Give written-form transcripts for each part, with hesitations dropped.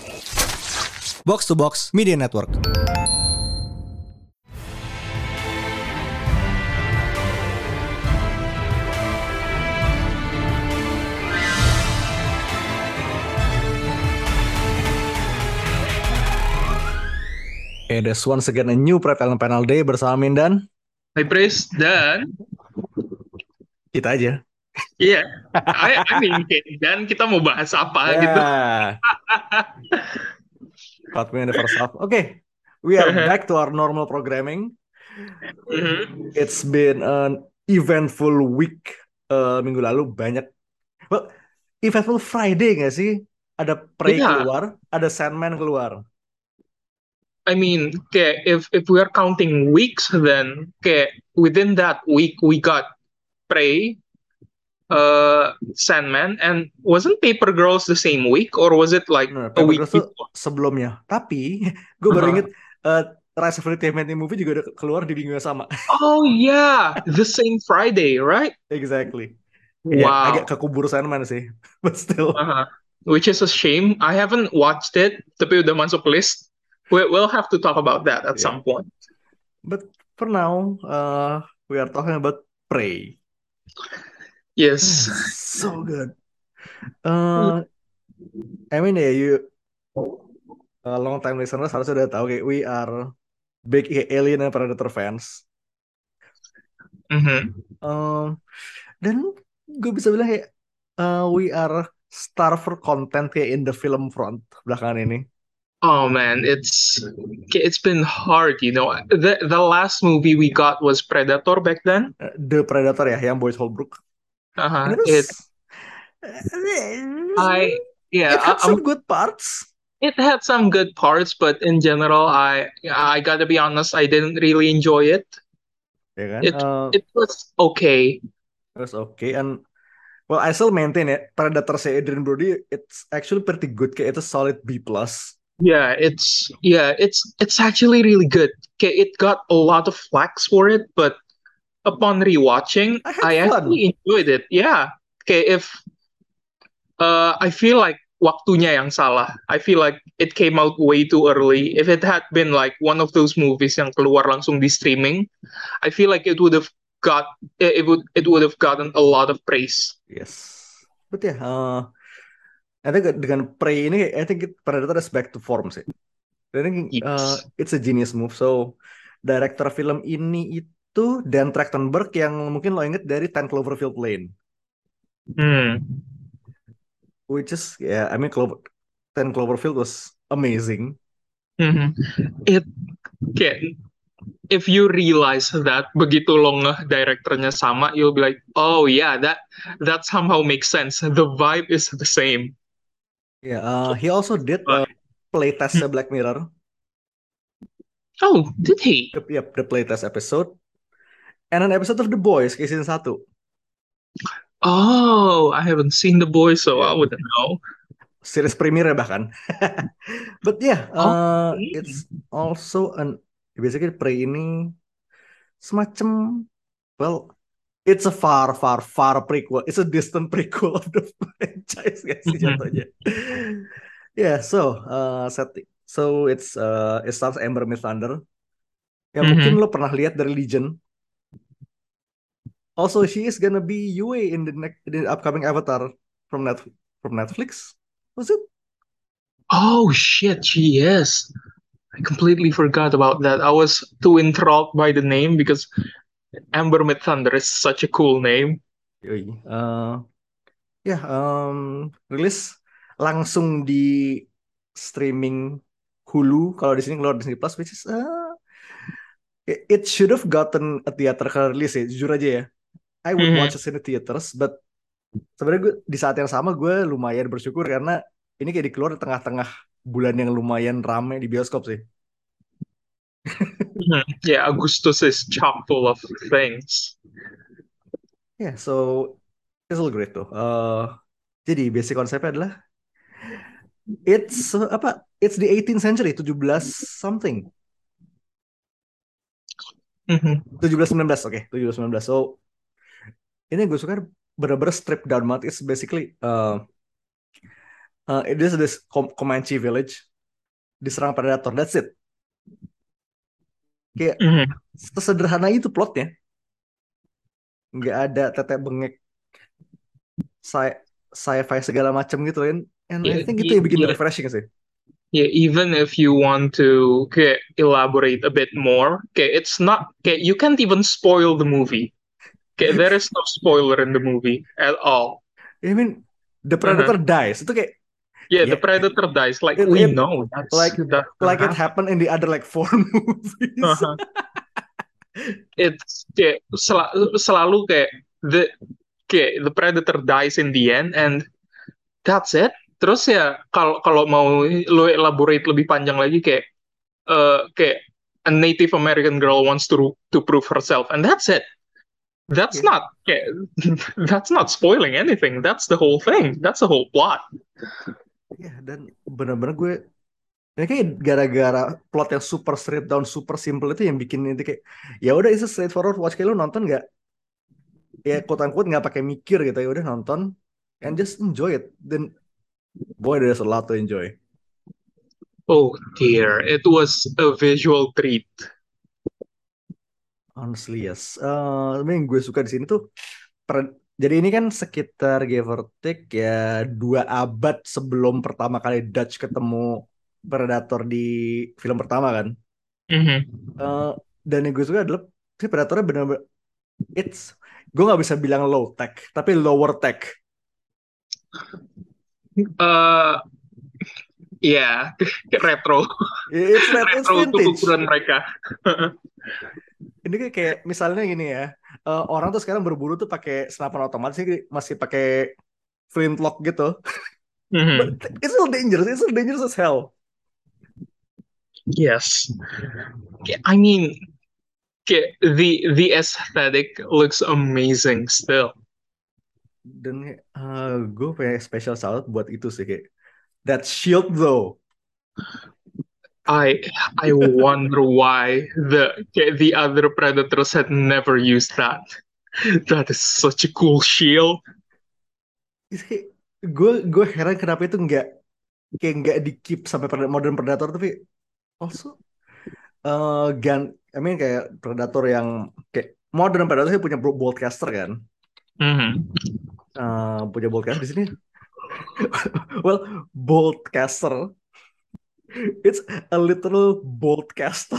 Box to Box Media Network. Okay, there's once again a new Pre-Talent Panel Day bersama Mindan. Hai Pris, dan Kita aja. iya, I mean, dan kita mau bahas apa gitu. Yeah, caught me in the first half. Okay, we are back to our normal programming. Mhm. It's been an eventful week. Minggu lalu banyak. Well, eventful Friday nggak sih? Ada Prey Yeah, keluar, ada Sandman keluar. I mean, kayak if we are counting weeks, then kayak within that week we got Prey, Sandman, and wasn't Paper Girls the same week, or was it like Nah, a Paper week Girls tuh before? sebelumnya. Tapi gue baru Uh-huh. inget Rise of the Teenage Movie juga udah keluar di minggu yang sama. Oh yeah, the same Friday, right? Exactly. Ya, agak Wow. kekubur Sandman sih. But still. Uh-huh. Which is a shame. I haven't watched it, tapi udah masuk list. We'll have to talk about that at Yeah. some point. But for now, we are talking about Prey. Yes. So good. Uh, I mean ya, you long time listeners harusnya udah tahu kayak we are big Alien and Predator fans. Mhm. Um, dan gue bisa bilang kayak we are starved for content kayak in the film front belakangan ini. Oh man, it's been hard, you know. The last movie we got was Predator back then. The Predator ya, yang Boyd Holbrook. And Uh-huh. it was, I yeah, it had I'm some good parts. it had some good parts, but in general, I gotta be honest, I didn't really enjoy it. Ya kan? It was okay. It was okay. And well, I still maintain it. Predator si Adrian Brody, it's actually pretty good. Kayak it's a solid B plus. It's actually really good. Okay, it got a lot of flax for it, but upon rewatching, I had I fun. actually enjoyed it. Yeah. Okay, if I feel like waktunya yang salah. I feel like it came out way too early. If it had been like one of those movies yang keluar langsung di streaming, I feel like it would have gotten a lot of praise. Yes. But ya, I think dengan Prey ini, I think Predator is back to form sih. I think Yes. it's a genius move. So, director film ini itu Dan Trachtenberg yang mungkin lo inget dari Ten Cloverfield Lane. Hmm. Which is, yeah, I mean, Ten Cloverfield was amazing. Mhm. It kayak if you realize that begitu lo ngeh direkturnya sama, you'll be like, oh yeah, that somehow makes sense. The vibe is the same. Yeah, he also did But, playtestnya Black Mirror. oh, did he? Yep, the playtest episode. And an episode of The Boys, kayak season 1. Oh, I haven't seen The Boys, so I Yeah, wouldn't know. series premiere bahkan. But yeah, Oh, it's also basically Prey ini semacam, well, it's a far, far, far prequel. It's a distant prequel of the franchise, guys, sih mhm. jatuhnya. Yeah, so it stars Amber Miss Thunder. Yang mungkin Mhm. lo pernah lihat dari Legion. Also, she is gonna be Yue in the upcoming Avatar from Netflix. Was it? Oh shit, she is. I completely forgot about that. I was too enthralled by the name because Amber Mid Thunder is such a cool name. Yoi. Ya, rilis langsung di streaming Hulu. Kalau di sini keluar Disney Plus, which is it should have gotten a theatrical release ya. Jujur aja ya, I would watch Mhm. it in the theaters, but sebenarnya gue di saat yang sama gue lumayan bersyukur karena ini kayak dikeluar di tengah-tengah bulan yang lumayan rame di bioskop sih. Mhm. Yeah, Augustus is chock full of things. Yeah, so it's all great tuh. Jadi basic konsepnya adalah It's the 18th century, 17 something. Mhm. 1719, oke, 1719. So, ini gue suka bener-bener strip down banget. It's basically It is this Comanche village diserang predator. That's it. Kayak Mhm. sesederhana itu plotnya. Nggak ada tetek bengek sci sci-fi segala macam gitu kan. And I Yeah, think itu yang bikin yeah, refreshing sih. yeah. Even if you want to elaborate a bit more, it's not. You can't even spoil the movie. There is no spoiler in the movie at all. I mean, the Uh-huh. predator dies. Itu kayak Yeah, the ya predator dies. Like we it know like that's gonna it happen. happened in the other like four movies. Uh-huh. It's selalu the the predator dies in the end and that's it. Terus ya kalau kalau mau lo elaborate lebih panjang lagi kayak a Native American girl wants to prove herself and that's it. That's Ya, not that's not spoiling anything. That's the whole thing. That's the whole plot. ya dan benar-benar gue ini kayak gara-gara plot yang super straight down, super simple itu yang bikin itu kayak ya udah itu straightforward watch kayak lu nonton nggak ya quote unquote nggak pakai mikir gitu ya udah nonton and just enjoy it. Then boy there's a lot to enjoy. Oh dear, it was a visual treat. Honestly yes. Tapi yang gue suka di sini tuh jadi ini kan sekitar give or take ya 2 abad sebelum pertama kali Dutch ketemu Predator di film pertama kan. Mhm. Eh, dan yang gue suka adalah si Predatornya benar-benar it's gue nggak bisa bilang low tech tapi lower tech. Uh, ya, retro, It's retro untuk vintage. ukuran mereka. Ini kayak misalnya gini ya, orang tuh sekarang berburu tuh pakai senapan otomatis ini masih pakai flintlock gitu. But Mhm. it's still dangerous. It's still dangerous as hell. Yes, I mean, the aesthetic looks amazing still. Dan gue punya special salute buat itu sih kayak that shield though. I I wonder why the other predators had never used that. That is such a cool shield. Itu kayak gue heran kenapa itu nggak di keep sampai modern predator tapi also gun I mean kayak predator yang kayak modern predator sih punya boltcaster kan. Mhm. Punya boltcaster di sini. Well, boltcaster. It's a literal boltcaster.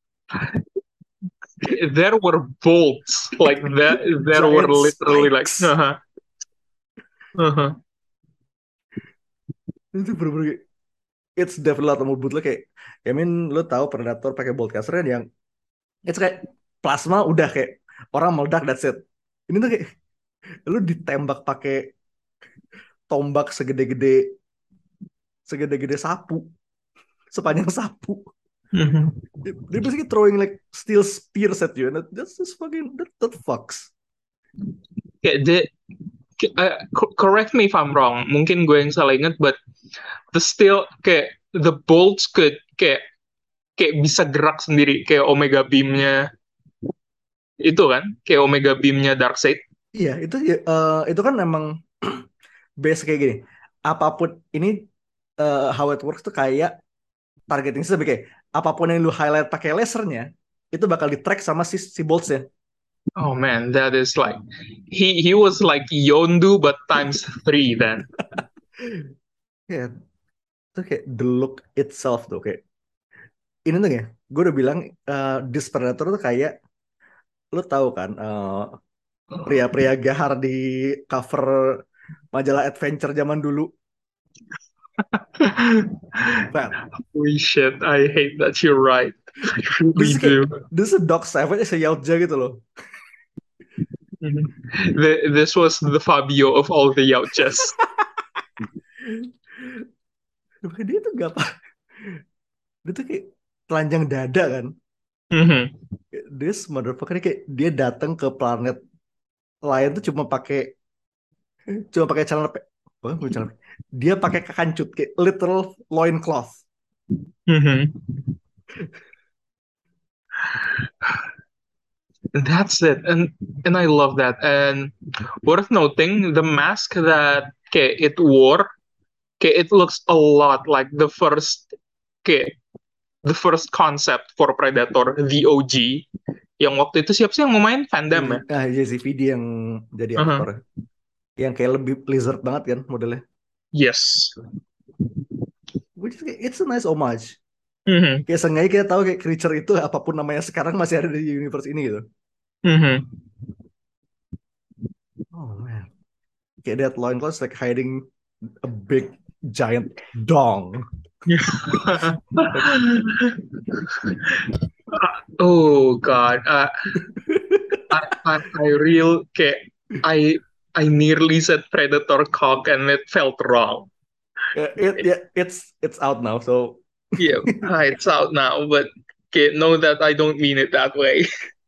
There were bolts like that. There were Giant literally like spikes. uh-huh. Itu bener-bener it's definitely a lot more bootleg kayak I mean lo tahu Predator pakai boltcaster kan yang it's kayak plasma udah kayak orang meledak that's it. Ini tuh kayak lu ditembak pakai tombak segede-gede sapu, sepanjang sapu. Mhm. They're basically throwing like steel spears at you and that's just fucking that fucks. Kayak correct me if I'm wrong. Mungkin gue yang salah ingat, but the still the bolts could kayak bisa gerak sendiri kayak Omega Beamnya itu kan kayak Omega Beamnya Darkseid. Iya, itu kan emang base kayak gini. Apapun ini how it works tuh kayak targeting system kayak apapun yang lu highlight pakai lasernya itu bakal di track sama si boltsnya. Oh man, that is like he was like Yondu but times three then. Ya, itu kayak the look itself tuh kayak ini tuh ya. Gue udah bilang this Predator tuh kayak lu tahu kan pria-pria gahar di cover majalah adventure zaman dulu. Well, Holy shit, I hate that you're right. I this really is kayak do. this is Doc Savage se Yautja gitu loh. Mhm. This was the Fabio of all the Yauchas. Dia tuh gak apa, dia tuh kayak telanjang dada kan. Mhm. This motherfucker kayak dia datang ke planet lain tuh cuma pakai celana bukan celana dia pakai kancut kayak literal loincloth. Mhm. That's it, and I love that. And worth noting, the mask that it wore Kayak it looks a lot like kayak the first concept for Predator, the OG. Yang waktu itu siapa sih yang mau main? Van Damme ya? Iya sih VD yang jadi Uh-huh. aktor, yang kayak lebih lizard banget kan modelnya, Yes. which is it's a nice homage. Mhm. Kayak sengaja kita tahu kayak creature itu apapun namanya sekarang masih ada di universe ini gitu. Mhm. Oh man, kayak that loincloth like hiding a big giant dong. Like, Oh God, I real kayak I I nearly said Predator cock and it felt wrong. yeah, it's out now. So, Yeah, it's out now, but okay, know that I don't mean it that way.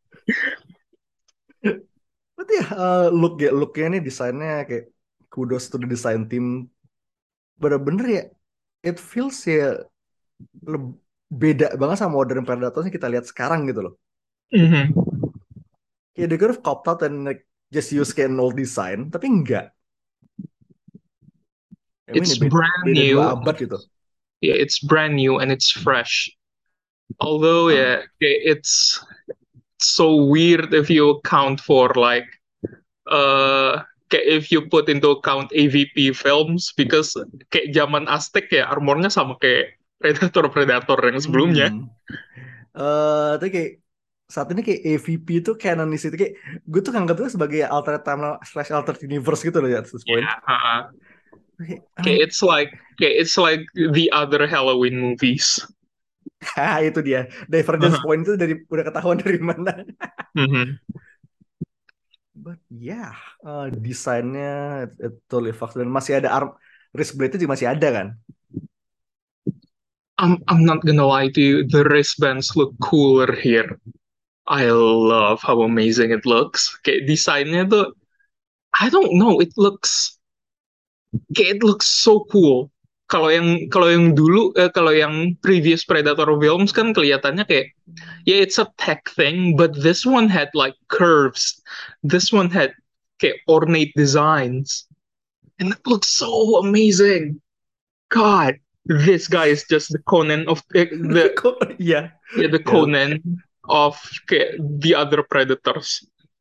but ya looknya nih desainnya kayak kudos to the design team. Bener-bener ya, it feels ya leb- beda banget sama modern Predator yang kita lihat sekarang gitu loh. Mhm. Kayak they could have copped out and like just use kayak an old design, tapi enggak. I mean, It's brand beda dua new. abad gitu. Yeah, it's brand new and it's fresh. Although, Ah, yeah, okay, it's so weird if you account for like kayak if you put into account AVP films because kayak zaman Aztec ya armornya sama kayak Predator yang sebelumnya. hmm. Tapi kayak saat ini kayak AVP itu canonicity kayak gue tuh nganggap itu sebagai alternate timeline slash alternate universe gitu loh ya at this point. Yeah. I Kayak mean, it's like the other Halloween movies. itu dia divergence point itu dari udah ketahuan dari mana. Mhm. But yeah, desainnya it totally fucks, dan masih ada arm wrist blade itu juga masih ada kan. I'm not gonna lie to you, the wristbands look cooler here. I love how amazing it looks. Kayak desainnya tuh, I don't know, it looks so cool. Kalau yang dulu kalau yang previous Predator films kan kelihatannya kayak yeah it's a tech thing, but this one had like curves. This one had kayak ornate designs, and it looks so amazing. God, this guy is just the Conan of Kok iya yeah, the ya, Conan of kayak the other Predators.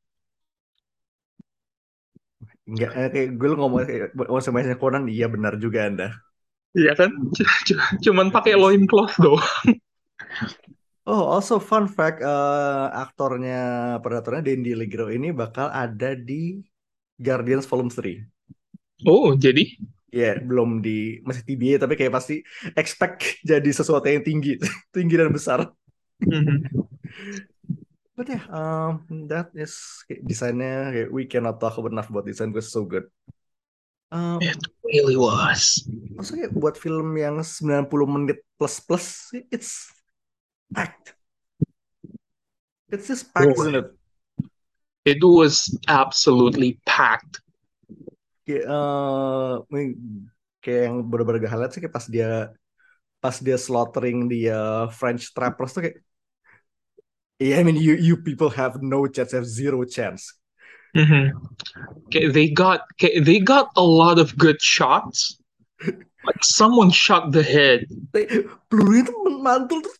nggak kayak gue lu ngomong kayak sama Conan, iya benar juga Anda. Iya kan? Cuman It pakai is. loincloth doh. Oh, also fun fact, aktornya Predatornya Danny Allegro ini bakal ada di Guardians Volume 3. Oh, jadi Ya, belum di masih TBA tapi kayak pasti expect jadi sesuatu yang tinggi, tinggi dan besar. mhm. But yeah, that is kayak desainnya kayak we cannot talk enough about design because it's so good. It Um, really was. also kayak buat film yang 90 menit plus plus, it's packed. It's just packed, Oh, isn't it? it was absolutely packed. Kayak, kayak yang bener-bener gak highlight sih kayak pas dia slaughtering dia French trappers tuh kayak, yeah, I mean you people have no chance, have zero chance. Mhm. Okay, they got a lot of good shots. Like someone shot the head. Pelurunya tuh mantul tuh.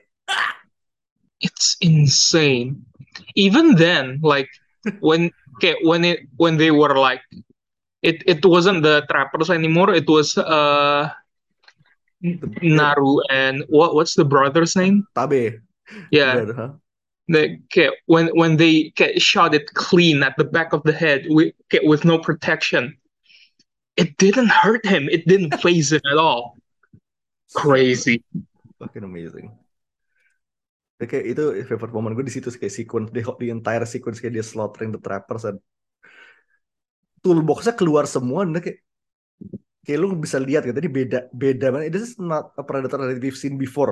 It's insane. Even then, like when okay, when they were like it wasn't the trappers anymore. It was The, Naru and what's the brother's name? Tabe, Yeah, brother, huh? okay, when they get shot it clean at the back of the head with no protection, it didn't hurt him. It didn't phase him at all. So Crazy. fucking amazing. Kayak itu favorite moment gue di situ kayak sequence the entire sequence kayak dia slaughtering the trappers dan toolboxnya keluar semua dan kayak lu bisa lihat gitu, tadi beda beda banget. This is not a Predator that we've seen before.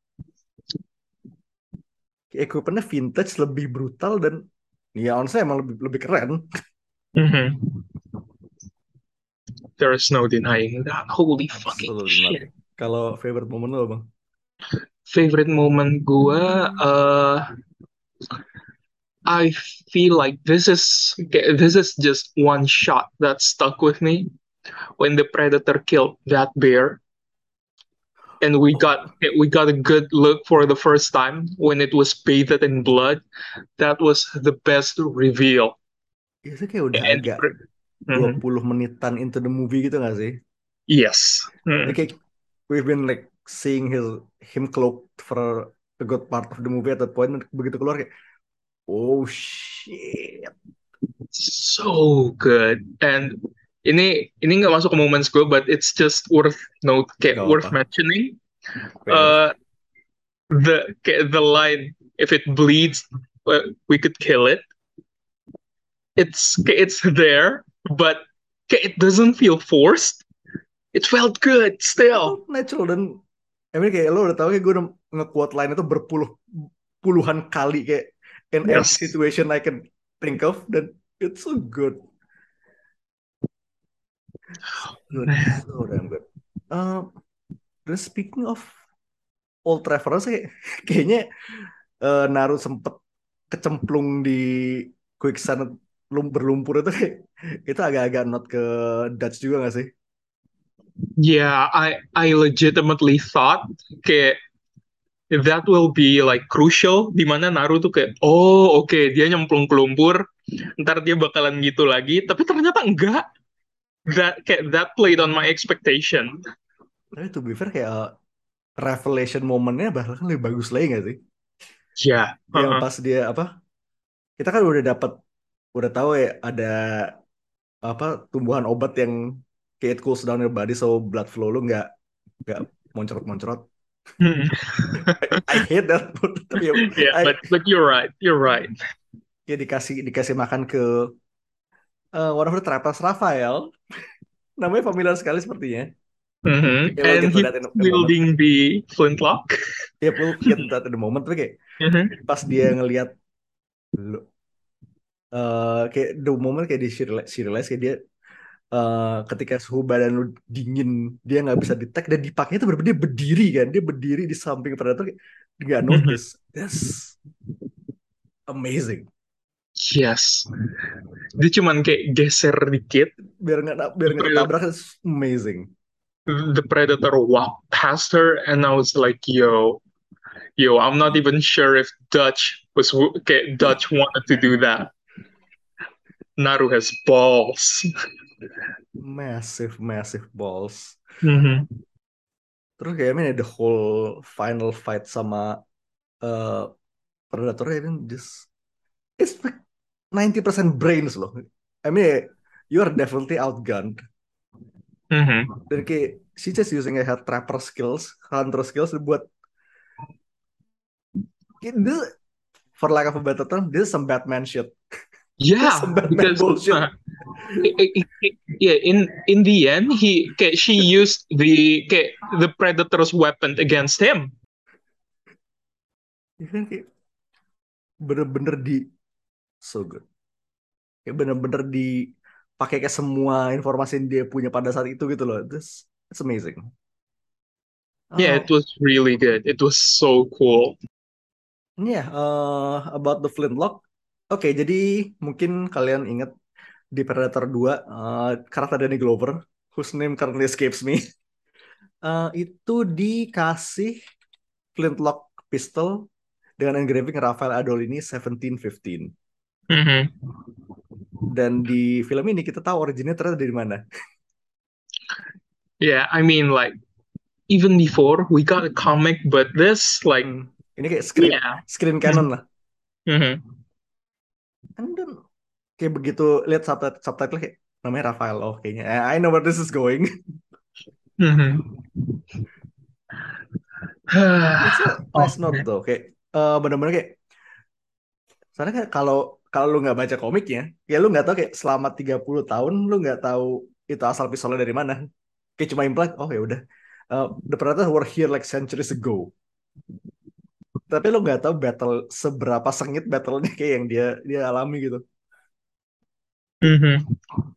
Kayak equipmentnya vintage, lebih brutal, dan ya honestly emang lebih lebih keren. Mhm. There is no denying that. Holy fucking Absolutely not. shit. Kalau favorite moment lo bang? Favorite moment gua, I feel like this is just one shot that stuck with me. when the predator killed that bear, and Oh, we got a good look for the first time when it was bathed in blood. That was the best reveal. itu kayak udah And agak dua Mhm. puluh menitan into the movie gitu gak sih? Yes. Ini kayak we've been like seeing him cloaked for a good part of the movie at that point. Begitu keluar kayak, oh shit. So good. And ini nggak masuk ke moments gue, but it's just worth Gak worth apa. mentioning. Kayak, Uh, the line, if it bleeds, we could kill it. It's there, but it doesn't feel forced. It felt good itu still. natural dan I mean kayak lo udah tahu kayak gue udah nge-quote line itu puluhan kali kayak in every Yes. situation I can think of dan it's so good. Good, so damn good. Dan speaking of old reference kayaknya Naruto sempet kecemplung di quicksand berlumpur itu kayak itu agak-agak not ke Dutch juga gak sih? Yeah, I legitimately thought kayak that will be like crucial di mana Naruto kayak oh oke, dia nyemplung ke lumpur, ntar dia bakalan gitu lagi, tapi ternyata enggak. That played on my expectation. Tapi to be fair kayak revelation momennya bahkan lebih bagus lagi gak sih? Ya, Yang heeh. pas dia apa? Kita kan udah tahu ya ada apa tumbuhan obat yang kayak it cools down your body so blood flow lu nggak moncrot-moncrot. Hmm. I hate that tapi ya Yeah, I but you're right. You're right. ya dikasih makan ke one of the trappers Raphael, namanya familiar sekali sepertinya. Yeah, we'll And get to he that was in a moment. wielding the flintlock. Yeah, we'll get to that in a moment. Tapi kayak Mhm. pas dia ngelihat kayak the moment kayak dia she realize kayak dia ketika suhu badan lu dingin dia nggak bisa detect dan dipakainya itu benar dia berdiri kan dia berdiri di samping predator kayak nggak Mhm. notice. That's amazing. Yes. Dia cuman kayak geser dikit. Biar The nggak predator, ketabrak it's amazing. the predator walked past her, and I was like, yo, I'm not even sure if Dutch wanted to do that. Naru has balls. Massive balls. Mhm. Terus kayak I mean, the whole final fight sama uh, predator I mean just it's like 90% brains loh. I mean you are definitely outgunned Mhm. dan kayak she just using her trapper skills hunter skills buat this for lack of a better term this is some Batman shit. This is Yeah, some Batman because bullshit. yeah, in the end, she used the predator's weapon against him. Ya kan kayak bener-bener di so good kayak bener-bener dipakai ke semua informasi yang dia punya pada saat itu gitu loh. This it's amazing. Yeah, uh, it was really good. It was so cool. yeah, about the flintlock. Oke, jadi mungkin kalian ingat di Predator 2 karakter Danny Glover whose name currently escapes me itu dikasih flintlock pistol dengan engraving Rafael Adolini 1715 Hmm. dan di film ini kita tahu originnya ternyata dari mana. Yeah, I mean, like even before we got a comic, but this, like, Hmm. Ini kayak yeah. screen canon lah. Hmm. And then kayak begitu lihat subtitle kayak namanya Rafael oh kayaknya I know where this is going. Hmm. It's a Oh nice note man. though kayak bener-bener kayak soalnya kan kalau kalau lu nggak baca komiknya ya lu nggak tahu kayak selama 30 tahun lu nggak tahu itu asal pistolnya dari mana kayak cuma imply oh ya udah the Predators were here like centuries ago tapi lu nggak tahu battle seberapa sengit battlenya kayak yang dia dia alami gitu. Hmm.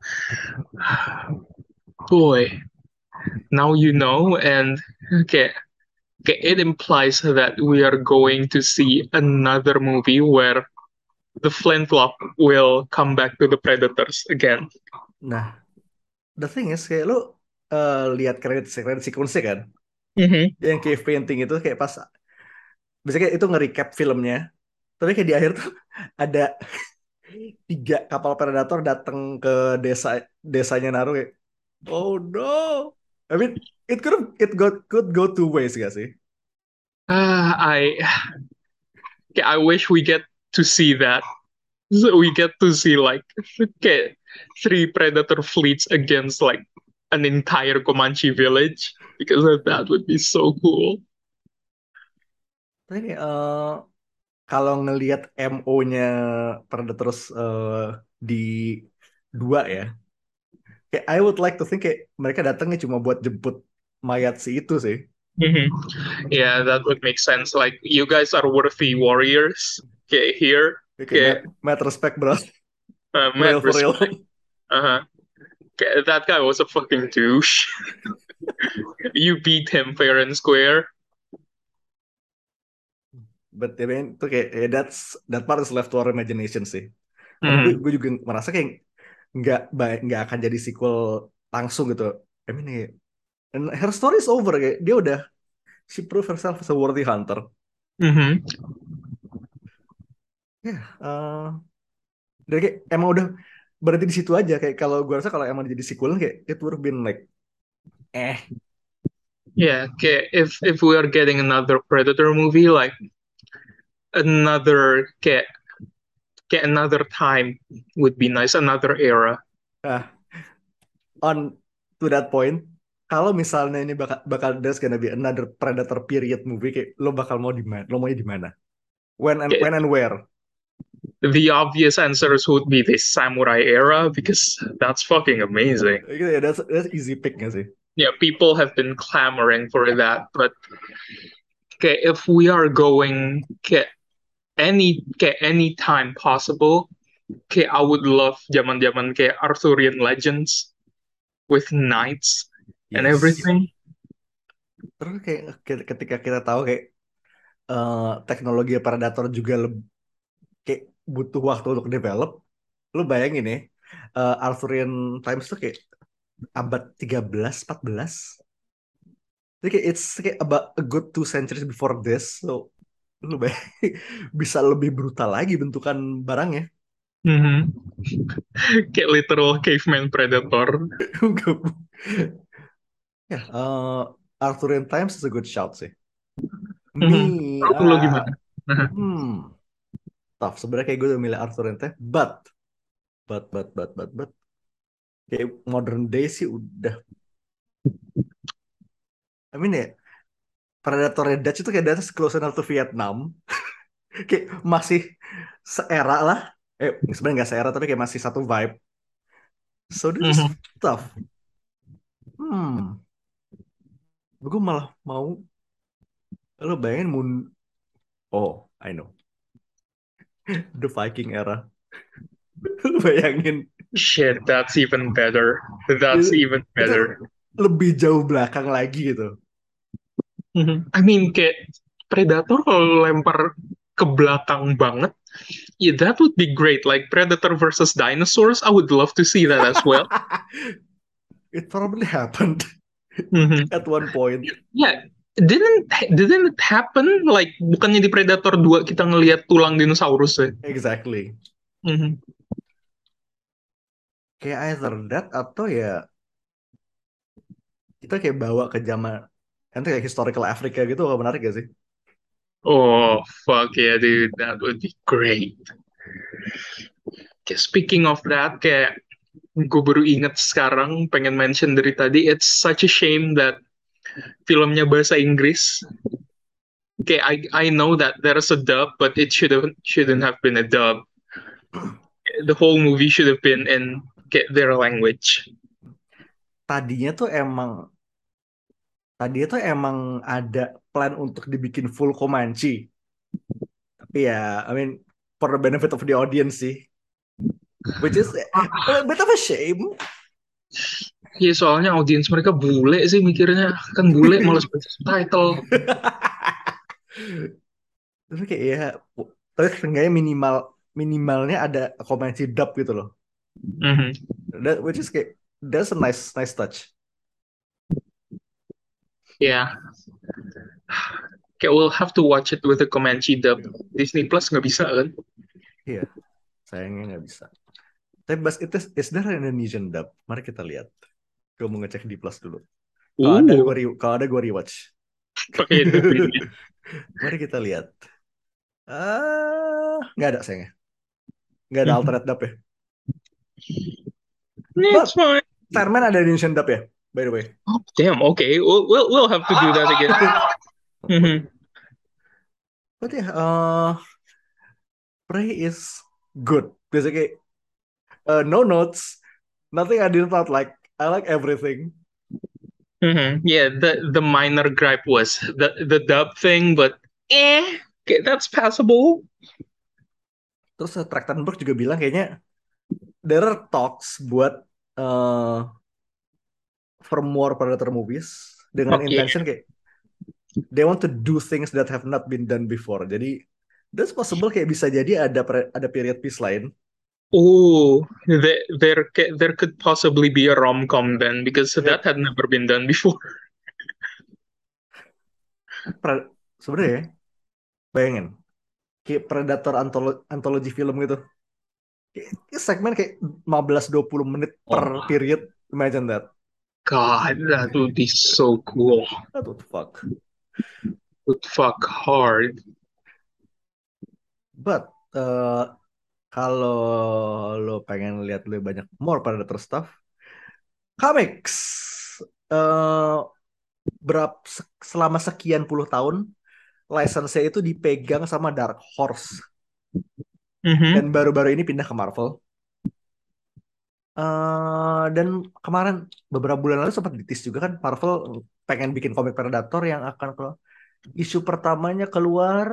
Boy, now you know, and okay, it implies that we are going to see another movie where the flintlock will come back to the predators again. Nah the thing is kayak lu lihat credit sequence kan, Mhm. yang cave painting itu kayak pas biasanya kayak itu nge-recap filmnya, tapi kayak di akhir tuh ada 3 kapal predator datang ke desanya Naruto kayak, oh no. I mean, it could go two ways gak sih? I wish we get to see that. So we get to see like okay, three predator fleets against like an entire Comanche village because that would be so cool. Tapi kayak, kalau ngelihat MO-nya Predators di 2 ya, kayak I would like to think kayak mereka datangnya cuma buat jemput mayat si itu sih. Mhm. Yeah, that would make sense. Like you guys are worthy warriors. Okay, here. Kayak Okay, mad respect bro, for mad real for real. respect. Uh-huh. Okay, that guy was a fucking douche. You beat him fair and square. But I mean, itu kayak that part is left to our imagination sih. Karena gue Mhm. gue juga merasa kayak nggak akan jadi sequel langsung gitu. I mean, and her story is over kayak dia udah she proved herself as a worthy hunter. Mhm. Ya, dan kayak emang udah berhenti di situ aja kayak kalau gue rasa kalau emang jadi sequel kayak it would have been like eh Yeah. Okay. If we are getting another Predator movie, like another get another time would be nice, another era. nah on to that point kalau misalnya ini bakal there's gonna be another Predator period movie kayak lo bakal mau di mana lo maunya di mana Okay, when and where. the obvious answers would be the samurai era because that's fucking amazing. Yeah, that's easy pick gak sih. Yeah, people have been clamoring for that. But okay, if we are going any time possible, okay, I would love zaman Arthurian legends with knights and Yes, everything. terus kayak ketika kita tahu kayak teknologi Predator juga kayak butuh waktu untuk develop. Lu bayangin ya, Arthurian Times tuh kayak abad 13, 14. Jadi kayak it's kayak about a good 2 centuries before this. So, lu bayangin bisa lebih brutal lagi bentukan barangnya. Mhm. Kayak literal caveman predator. Ya, Arthurian Times is a good shout sih. Mhm. Me, Menurut lo gimana? Nah. hmm, tough. Sebenarnya kayak gue udah milih Arthurian Times, but, kayak modern day sih udah. I mean ya, Predator Dutch itu kayak that's close enough to Vietnam. Kayak masih seera lah. Sebenarnya nggak seera tapi kayak masih satu vibe. So this is Mhm. tough. Hmm, gue malah mau lo bayangin Oh, I know. The Viking era. Lo bayangin Shit, that's even better. That's even itu better. lebih jauh belakang lagi gitu. Mhm. I mean, kayak Predator kalau lempar ke belakang banget, yeah, that would be great. Like Predator versus dinosaurs, I would love to see that as well. It probably happened Mhm. at one point. Yeah, didn't it happen? Like bukannya di Predator 2 kita ngelihat tulang dinosaurus ya? Exactly. Mhm. Kayak either that atau ya kita kayak bawa ke zaman nanti kayak historical Africa gitu, gak menarik gak sih? Oh, fuck yeah, dude. That would be great. Kayak speaking of that, kayak gue baru inget sekarang, pengen mention dari tadi, it's such a shame that filmnya bahasa Inggris. Okay, I know that there's a dub, but it shouldn't have been a dub. The whole movie should have been in their language. Tadinya tuh emang tadinya tuh emang ada plan untuk dibikin full Comanche. Tapi ya, I mean, for the benefit of the audience sih. Which is a bit of a shame. Iya, soalnya audiens mereka bule sih mikirnya. Kan bule males baca subtitle. Tapi kayak ya, tapi seenggaknya minimalnya ada Comanche dub gitu loh. Mhm. Which is kayak that's a nice touch. Yeah. Okay, we'll have to watch it with the Comanche dub. Iya, Disney Plus nggak bisa kan? iya, sayangnya nggak bisa. Tapi Bas, itu is there an Indonesian dub? Mari kita lihat. Gue mau ngecek di Plus dulu. Uh, Kalau ada gue rewatch. pakai Indonesia. Mari kita lihat. Nggak ada sayangnya. Nggak ada alternate dub ya. It's But fine. Sandman ada Indonesian dub ya, by the way. Oh, damn. Okay, we'll have to do that again. Mhm. But ya, Prey is good. Basically, no notes, nothing I didn't thought like. I like everything. Yeah, the minor gripe was the dub thing, but okay, that's passable. Terus Trachtenberg juga bilang kayaknya there are talks buat uh, for more Predator movies dengan Fuck yeah. intention kayak they want to do things that have not been done before. Jadi that's possible kayak bisa jadi ada period piece lain. Oh, there could possibly be a rom-com then because that Yep. had never been done before. Sebenarnya ya, bayangin kayak Predator antologi film gitu. Kayak segmen kayak 15-20 menit per Oh period. Imagine that. God, that would be so cool. What the fuck? Would fuck hard. But kalau lo pengen lihat lebih banyak more Predator stuff, comics eh selama sekian puluh tahun license itu dipegang sama Dark Horse dan Mm-hmm. baru-baru ini pindah ke Marvel. Dan kemarin beberapa bulan lalu sempat ditis juga kan Marvel pengen bikin komik Predator yang akan keluar. Isu pertamanya keluar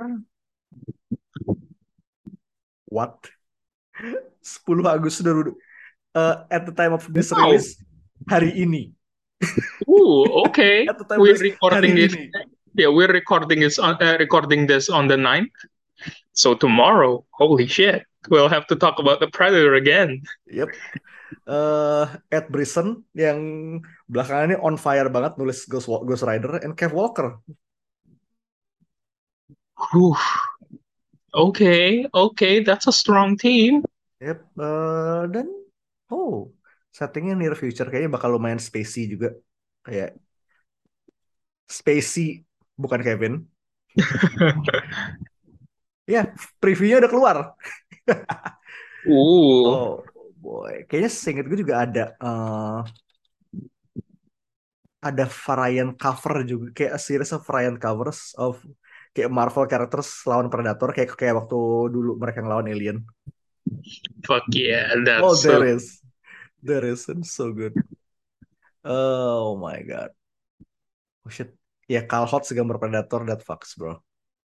what? 10 Agustus at the time of this Wow. release hari ini. Ooh, okay. At the time of We're this hari recording it. ini. Yeah, we're recording this on the 9th. So tomorrow, holy shit, we'll have to talk about the Predator again. Yep. Ed Brisson yang belakangan ini on fire banget nulis Ghost Rider and Kev Walker. Whew. Okay, that's a strong team. Yep. Dan settingnya near future kayaknya bakal lumayan spacey juga. Kayak spacey bukan Kevin. Ya, previewnya udah keluar. Ooh, Oh boy, kayaknya seinget gue juga ada variant cover juga kayak a series of variant covers of kayak Marvel characters lawan Predator kayak kayak waktu dulu mereka ngelawan Alien. fuck yeah, Oh, that's so. there is, and so good. Oh my god. Oh shit. Ya, Carl Hotz gambar Predator that fucks, bro.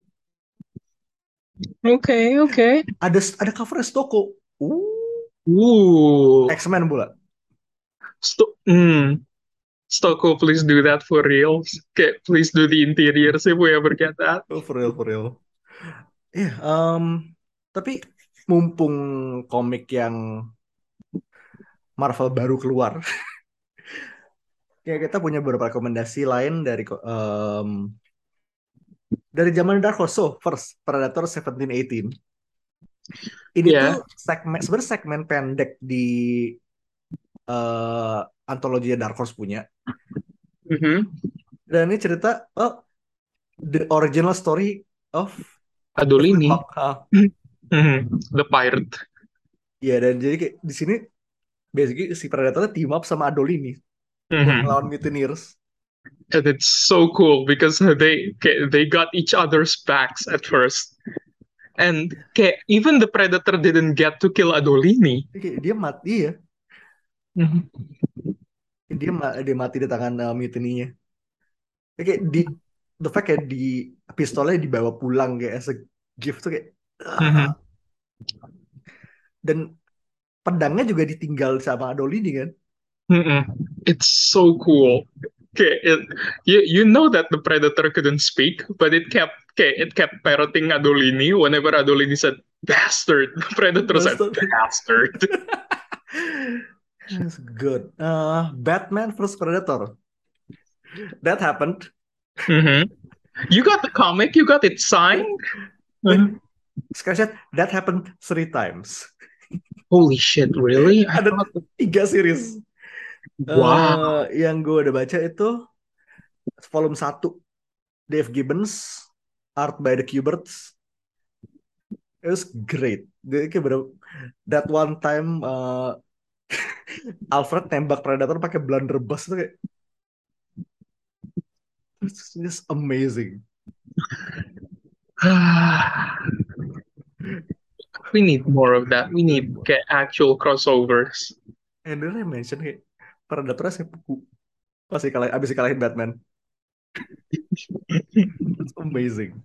Okay. Ada cover Stoko. Ooh, X-Men pula. Sto- mm. Stoko, please do that for real. Okay, please do the interiors if we ever get that. Oh, for real, for real. Iya, tapi mumpung komik yang Marvel baru keluar, ya kita punya beberapa rekomendasi lain dari zaman Dark Horse. So, first, Predator 1718. Ini tuh Yeah. sebenarnya segmen pendek di antologi Dark Horse punya. Mm-hmm. Dan ini cerita the original story of Evelyn Adolini. Hawk. Mm-hmm. The pirate. Ya, dan jadi kayak di sini basically si Predator team up sama Adolini buat Mm-hmm. ngelawan Mutineers. And it's so cool because they got each other's backs at first. And even the Predator didn't get to kill Adolini. Jadi kayak dia mati ya. Mhm. Dia mati di tangan mutininya. Kayak the fact kayak di pistolnya dibawa pulang kayak as a gift tuh kayak Mhm. dan pedangnya juga ditinggal sama Adolini kan. Mhm. It's so cool. You know that the Predator couldn't speak, but it kept parroting Adolini whenever Adolini said bastard. The Predator said Bastard. bastard. That's good. Batman vs Predator. That happened. Hmm. You got the comic, you got it signed. Wait, Mhm. screenshot. That happened 3 times. Holy shit, really? I Ada thought, 3 series. wow. Yang gue udah baca itu volume 1, Dave Gibbons, art by the Kuberts. It was great. Dia kayak bener, that one time Alfred tembak Predator pakai blunderbuss itu kayak it's just amazing. We need more of that. We need get actual crossovers. And then I mention kayak Predator seppuku pasti kalah abis dikalahin Batman. It's amazing.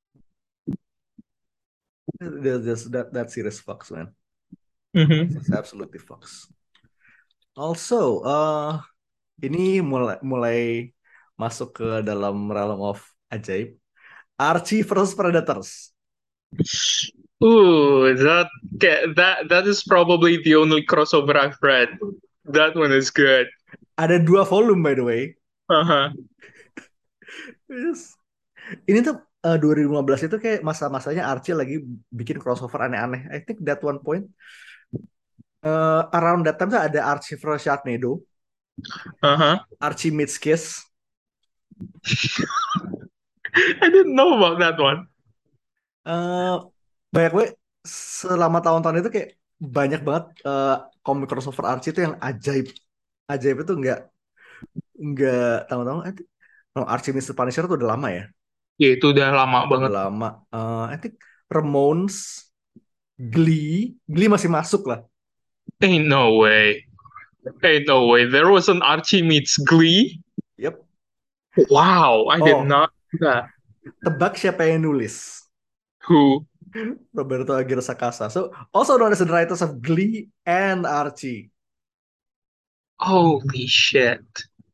That series fucks man. It's Hmm. absolutely fucks. Also, ini mulai mulai masuk ke dalam realm of ajaib. Archie versus Predators. Ooh, that is probably the only crossover I've read. That one is good. Ada 2 volume by the way. Uh-huh. Yes. Ini tuh 2015 itu kayak masa-masanya Archie lagi bikin crossover aneh-aneh. I think that one point around that time tuh ada Archie vs Sharknado, Uh-huh. Archie meets Kiss. I didn't know about that one. Eh banyak gue selama tahun-tahun itu kayak banyak banget komik crossover Archie itu yang ajaib. Ajaib itu nggak tahu-tahu. I think no, Archie meets the Punisher tuh udah lama ya. Ya itu udah lama Udah banget. lama. I think Ramones, Glee masih masuk lah. Ain't no way. Ain't no way. There was an Archie meets Glee. Yep. Wow, I did Oh, not know that. tebak siapa yang nulis? Who? Roberto Aguirre Sacasa. So, also known as the writers of Glee and Archie. Holy shit.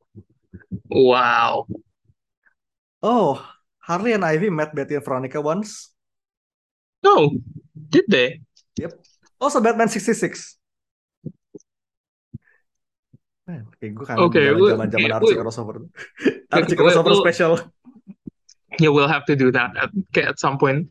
Wow. Oh, Harley and Ivy met Betty and Veronica once. No, did they? Yep. Also Batman 66. Man, kayak gue kangen Okay, zaman zaman zaman okay, Archie crossover. okay, Archie crossover special. yeah, we'll have to do that at some point.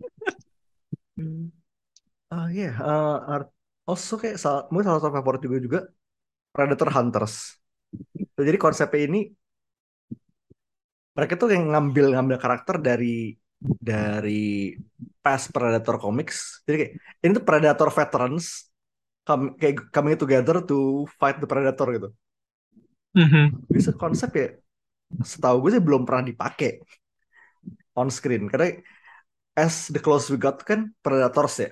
Yeah, also kayak mungkin salah satu favorit juga Predator Hunters. Jadi konsepnya ini mereka tuh yang ngambil ngambil karakter dari past Predator comics. Jadi kayak ini tuh Predator veterans kayak coming together to fight the Predator gitu. Hmm. Bisa konsep ya setahu gue sih belum pernah dipakai on screen karena as the close we got kan Predators ya.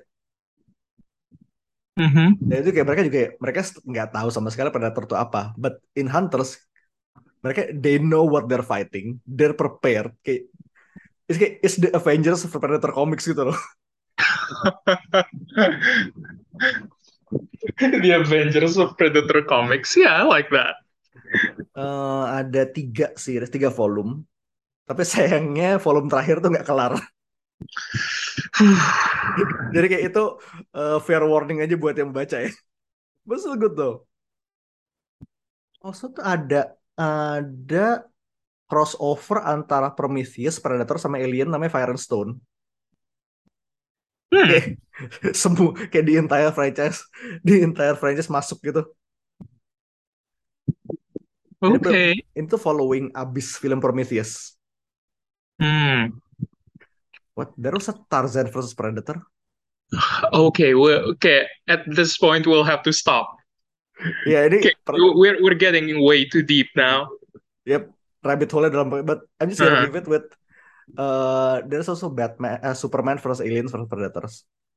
Hmm. Dan itu kayak mereka nggak tahu sama sekali Predator itu apa. But in Hunters mereka they know what they're fighting, they're prepared. Kayak it's the Avengers of Predator Comics gitu loh. The Avengers of Predator Comics. Yeah, I like that. Ada 3 series, 3 volume. Tapi sayangnya volume terakhir tuh nggak kelar. Jadi kayak itu fair warning aja buat yang baca ya. But still good though. Also tuh ada crossover antara Prometheus, Predator sama Alien namanya Fire and Stone. Kayak Hmm. semua kayak di entire franchise masuk gitu. Ini Okay. ini tuh following abis film Prometheus. Hmm. What? There was a Tarzan versus Predator? Okay. Okay. At this point, we'll have to stop. Ya ini Okay. We're getting way too deep now. yep, rabbit hole dalam, but I'm just gonna Uh-huh. leave it with there's also Batman, Superman versus Aliens versus Predators.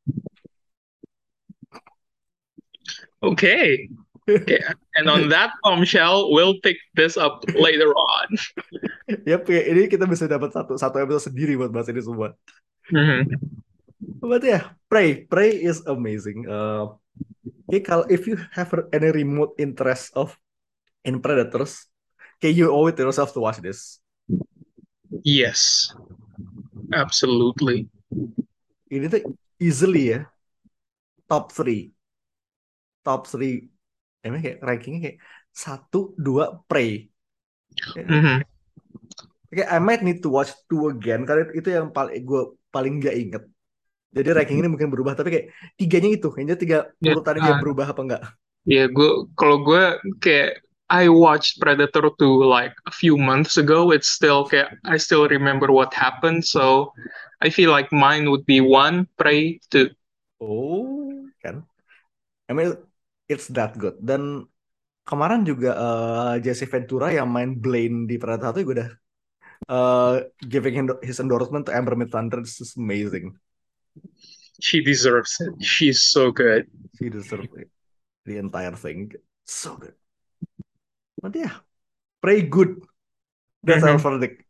Okay. Okay. And on that bombshell, we'll pick this up later on. Yep, ya, ini kita bisa dapat satu satu episode sendiri buat bahas ini semua. Mhm. But yeah, Prey is amazing. Okay, kalau if you have any remote interest of in Predators, okay, you owe it to yourself to watch this. Yes, absolutely. Ini tuh easily ya top 3, top 3 emang kayak rankingnya kayak satu dua Prey. Ya, Mhm. kayak I might need to watch two again karena itu yang paling gue paling gak inget. Jadi ranking ini mungkin berubah tapi kayak tiganya itu, kayaknya tiga Ya, urutannya dia berubah apa enggak? ya gue kayak I watched Predator 2 like a few months ago. It's still kayak I still remember what happened. So I feel like mine would be one, Prey, two. Oh, kan. I mean it's that good. Dan kemarin juga Jesse Ventura yang main Blaine di Predator 1 juga udah uh, giving his endorsement to Amber Midthunder. This is amazing. She deserves it. She's so good. She deserves it. The entire thing. So good. But yeah, Prey good. That's our Mhm. verdict.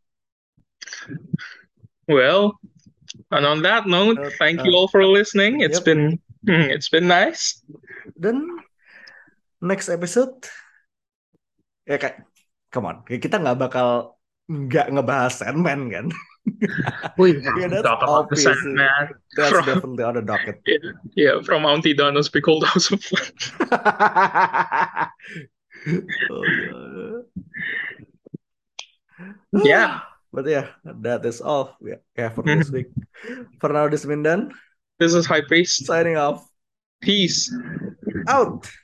Well, and on that note, Uh, thank you uh, all for listening. yep. It's been nice. Dan next episode ya kayak come on, kita nggak bakal nggak ngebahas Sandman kan? We have Yeah, to that's talk about the obvious. Sandman That's from definitely on the docket. yeah, yeah from Auntie Donna's Pickled House of Fun. Oh god. Yeah. But yeah, that is all we have for this Mhm. week. For now, this has been done. This is High Priest. Signing off. Peace. Out.